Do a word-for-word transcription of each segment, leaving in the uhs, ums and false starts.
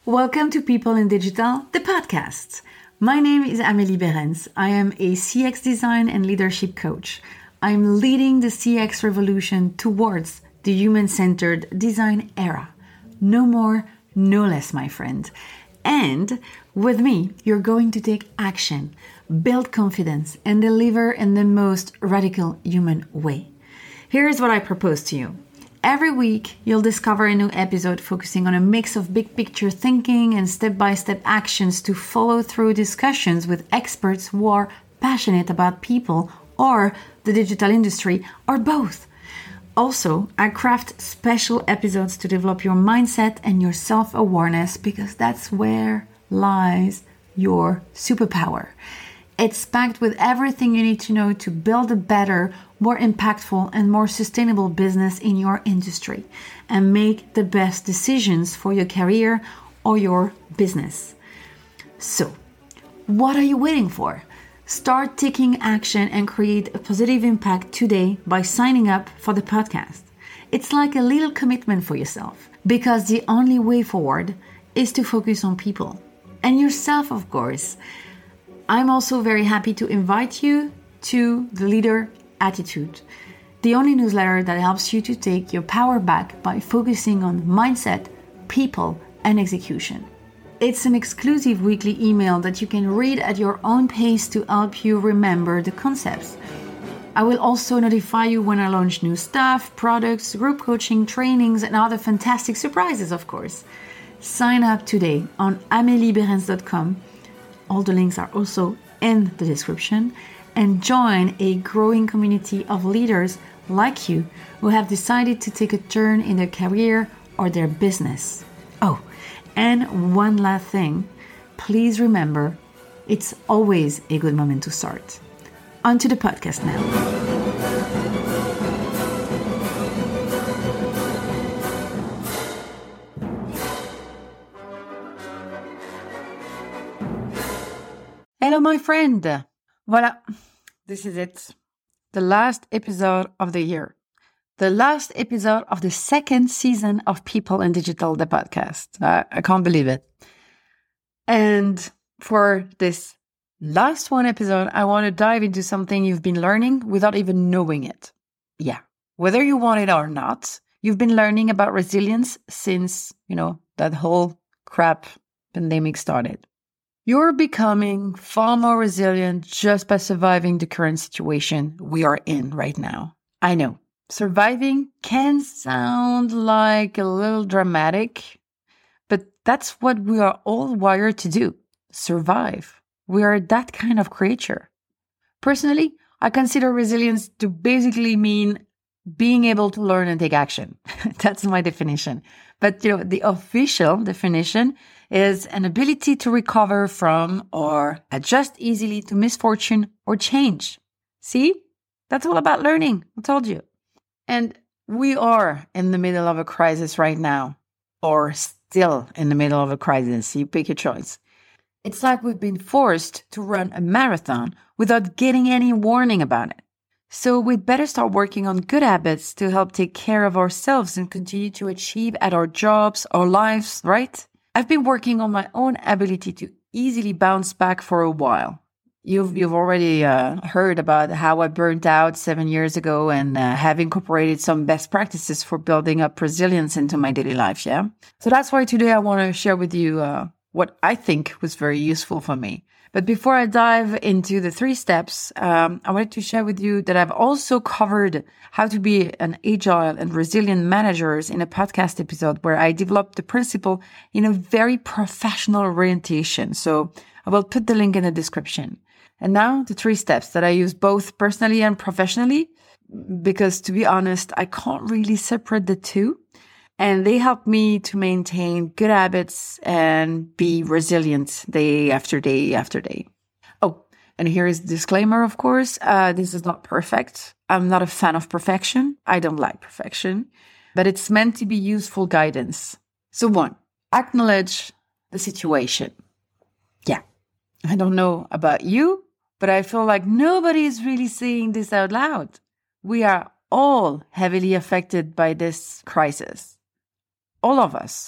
Welcome to People in Digital, the podcast. My name is Amélie Behrens. I am a C X design and leadership coach. I'm leading the C X revolution towards the human-centered design era. No more, no less, my friend. And with me, you're going to take action, build confidence, and deliver in the most radical human way. Here's what I propose to you. Every week, you'll discover a new episode focusing on a mix of big picture thinking and step-by-step actions to follow through discussions with experts who are passionate about people or the digital industry or both. Also, I craft special episodes to develop your mindset and your self-awareness because that's where lies your superpower. It's packed with everything you need to know to build a better, more impactful, and more sustainable business in your industry and make the best decisions for your career or your business. So, what are you waiting for? Start taking action and create a positive impact today by signing up for the podcast. It's like a little commitment for yourself because the only way forward is to focus on people and yourself, of course. I'm also very happy to invite you to the Leader Attitude, the only newsletter that helps you to take your power back by focusing on mindset, people, and execution. It's an exclusive weekly email that you can read at your own pace to help you remember the concepts. I will also notify you when I launch new stuff, products, group coaching, trainings, and other fantastic surprises, of course. Sign up today on amelie behrens dot com. All the links are also in the description, and join a growing community of leaders like you who have decided to take a turn in their career or their business. Oh, and one last thing, please remember, it's always a good moment to start. On to the podcast now. Hello, my friend. Voilà, this is it. The last episode of the year. The last episode of the second season of People in Digital, the podcast. I, I can't believe it. And for this last one episode, I want to dive into something you've been learning without even knowing it. Yeah, whether you want it or not, you've been learning about resilience since, you know, that whole crap pandemic started. You're becoming far more resilient just by surviving the current situation we are in right now. I know. Surviving can sound like a little dramatic, but that's what we are all wired to do. Survive. We are that kind of creature. Personally, I consider resilience to basically mean being able to learn and take action. That's my definition. But you know, the official definition is an ability to recover from or adjust easily to misfortune or change. See? That's all about learning. I told you. And we are in the middle of a crisis right now, or still in the middle of a crisis. You pick your choice. It's like we've been forced to run a marathon without getting any warning about it. So we'd better start working on good habits to help take care of ourselves and continue to achieve at our jobs, our lives, right? I've been working on my own ability to easily bounce back for a while. You've you've already uh, heard about how I burnt out seven years ago and uh, have incorporated some best practices for building up resilience into my daily life, yeah? So that's why today I want to share with you uh, what I think was very useful for me. But before I dive into the three steps, um, I wanted to share with you that I've also covered how to be an agile and resilient manager in a podcast episode where I developed the principle in a very professional orientation. So I will put the link in the description. And now the three steps that I use both personally and professionally, because to be honest, I can't really separate the two. And they help me to maintain good habits and be resilient day after day after day. Oh, and here is the disclaimer, of course. Uh, this is not perfect. I'm not a fan of perfection. I don't like perfection, but it's meant to be useful guidance. So one, acknowledge the situation. Yeah, I don't know about you, but I feel like nobody is really saying this out loud. We are all heavily affected by this crisis. All of us.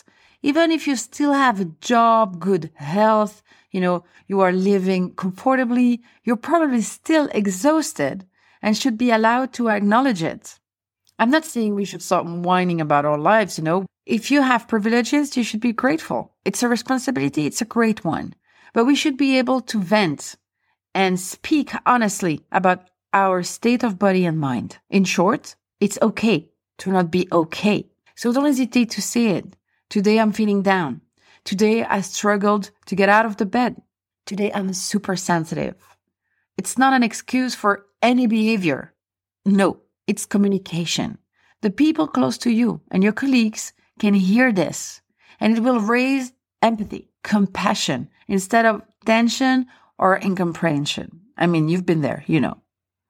Even if you still have a job, good health, you know, you are living comfortably, you're probably still exhausted and should be allowed to acknowledge it. I'm not saying we should stop whining about our lives, you know. If you have privileges, you should be grateful. It's a responsibility. It's a great one. But we should be able to vent and speak honestly about our state of body and mind. In short, it's okay to not be okay. So don't hesitate to say it. Today I'm feeling down. Today I struggled to get out of the bed. Today I'm super sensitive. It's not an excuse for any behavior. No, it's communication. The people close to you and your colleagues can hear this, and it will raise empathy, compassion, instead of tension or incomprehension. I mean, you've been there, you know.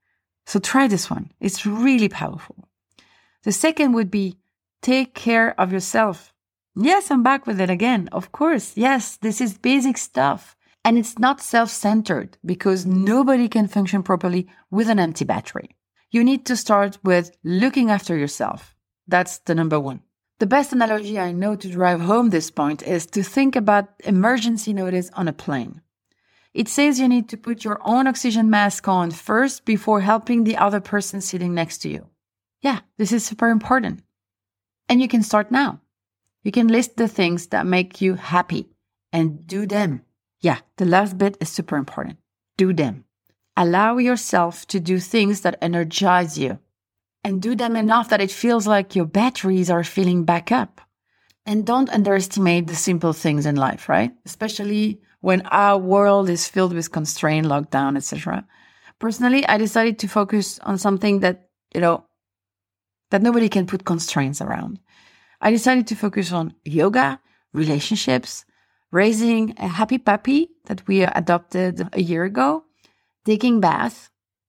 So try this one. It's really powerful. The second would be take care of yourself. Yes, I'm back with it again. Of course. Yes, this is basic stuff. And it's not self-centered because nobody can function properly with an empty battery. You need to start with looking after yourself. That's the number one. The best analogy I know to drive home this point is to think about emergency notice on a plane. It says you need to put your own oxygen mask on first before helping the other person sitting next to you. Yeah, this is super important. And you can start now. You can list the things that make you happy and do them. Yeah, the last bit is super important. Do them. Allow yourself to do things that energize you and do them enough that it feels like your batteries are filling back up. And don't underestimate the simple things in life, right? Especially when our world is filled with constraint, lockdown, et cetera. Personally, I decided to focus on something that, you know, that nobody can put constraints around. I decided to focus on yoga, relationships, raising a happy puppy that we adopted a year ago, taking baths,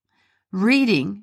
reading,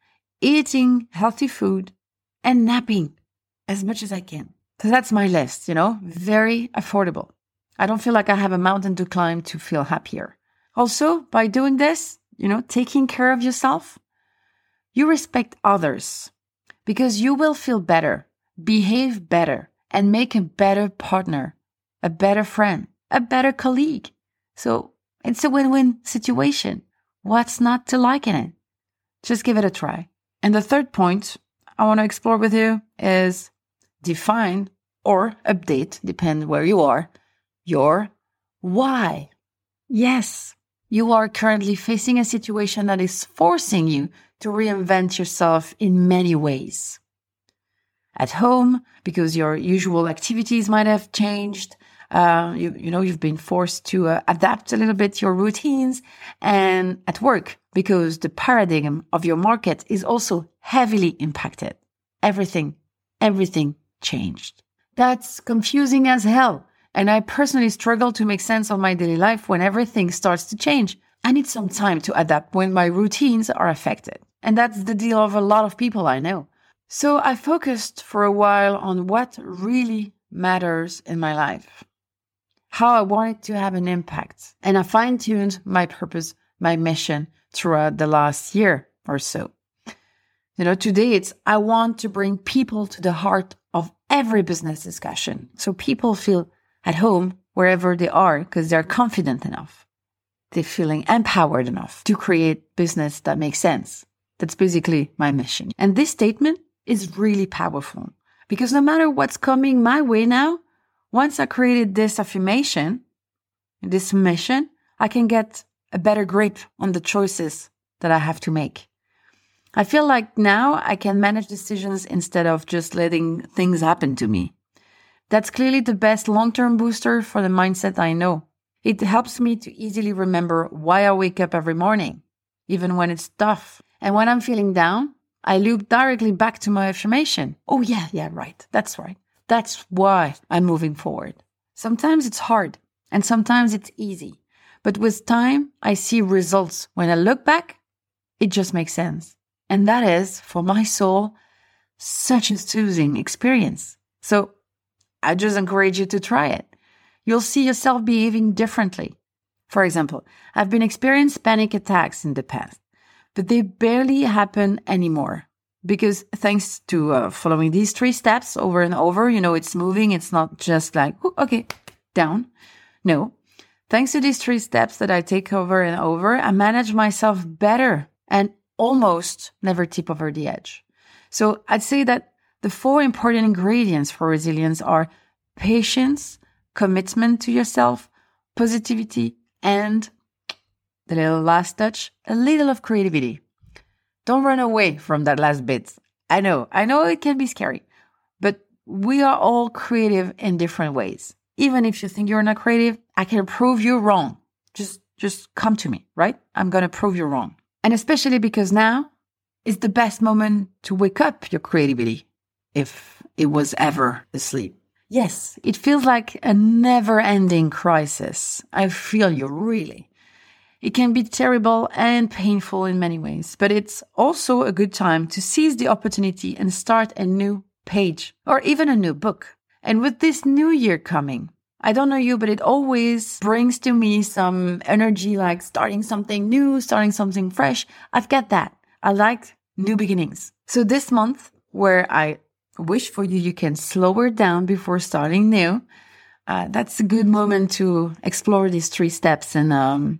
eating healthy food, and napping as much as I can. So that's my list, you know, very affordable. I don't feel like I have a mountain to climb to feel happier. Also, by doing this, you know, taking care of yourself, you respect others because you will feel better, behave better, and make a better partner, a better friend, a better colleague. So it's a win-win situation. What's not to like in it? Just give it a try. And the third point I want to explore with you is define or update, depend where you are, your why. Yes, you are currently facing a situation that is forcing you to reinvent yourself in many ways. At home, because your usual activities might have changed. Uh, you, you know, you've been forced to uh, adapt a little bit your routines. And at work, because the paradigm of your market is also heavily impacted. Everything, everything changed. That's confusing as hell. And I personally struggle to make sense of my daily life when everything starts to change. I need some time to adapt when my routines are affected. And that's the deal of a lot of people I know. So I focused for a while on what really matters in my life, how I wanted to have an impact, and I fine-tuned my purpose, my mission throughout the last year or so. You know, today it's I want to bring people to the heart of every business discussion so people feel at home wherever they are because they're confident enough. They're feeling empowered enough to create business that makes sense. That's basically my mission. And this statement is really powerful because no matter what's coming my way now, once I created this affirmation, this mission, I can get a better grip on the choices that I have to make. I feel like now I can manage decisions instead of just letting things happen to me. That's clearly the best long-term booster for the mindset I know. It helps me to easily remember why I wake up every morning, even when it's tough. And when I'm feeling down, I loop directly back to my affirmation. Oh yeah, yeah, right. That's right. That's why I'm moving forward. Sometimes it's hard and sometimes it's easy. But with time, I see results. When I look back, it just makes sense. And that is, for my soul, such a soothing experience. So I just encourage you to try it. You'll see yourself behaving differently. For example, I've been experiencing panic attacks in the past, but they barely happen anymore. Because thanks to uh, following these three steps over and over, you know, it's moving. It's not just like, oh, okay, down. No. Thanks to these three steps that I take over and over, I manage myself better and almost never tip over the edge. So I'd say that the four important ingredients for resilience are patience, commitment to yourself, positivity, and the little last touch, a little of creativity. Don't run away from that last bit. I know, I know it can be scary, but we are all creative in different ways. Even if you think you're not creative, I can prove you wrong. Just, just come to me, right? I'm going to prove you wrong. And especially because now is the best moment to wake up your creativity if it was ever asleep. Yes, it feels like a never-ending crisis. I feel you, really. It can be terrible and painful in many ways, but it's also a good time to seize the opportunity and start a new page or even a new book. And with this new year coming, I don't know you, but it always brings to me some energy, like starting something new, starting something fresh. I've got that. I like new beginnings. So this month, where I wish for you, you can slow it down before starting new. Uh, that's a good moment to explore these three steps and, um,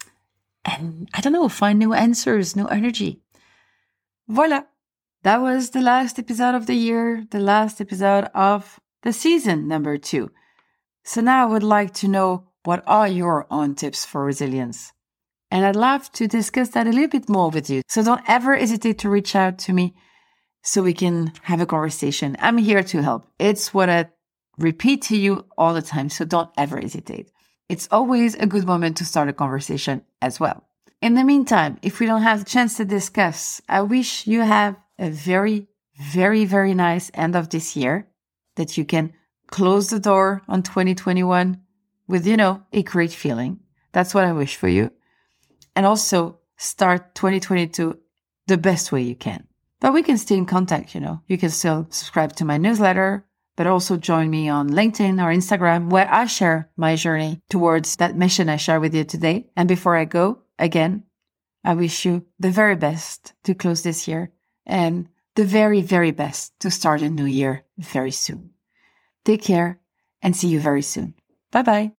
and I don't know, find new answers, new energy. Voila. That was the last episode of the year, the last episode of the season number two. So now I would like to know, what are your own tips for resilience? And I'd love to discuss that a little bit more with you. So don't ever hesitate to reach out to me so we can have a conversation. I'm here to help. It's what I repeat to you all the time. So don't ever hesitate. It's always a good moment to start a conversation as well. In the meantime, if we don't have the chance to discuss, I wish you have a very, very, very nice end of this year, that you can close the door on twenty twenty-one with, you know, a great feeling. That's what I wish for you. And also start twenty twenty-two the best way you can. But we can stay in contact, you know. You can still subscribe to my newsletter, but also join me on LinkedIn or Instagram, where I share my journey towards that mission I share with you today. And before I go, again, I wish you the very best to close this year and the very, very best to start a new year very soon. Take care and see you very soon. Bye-bye.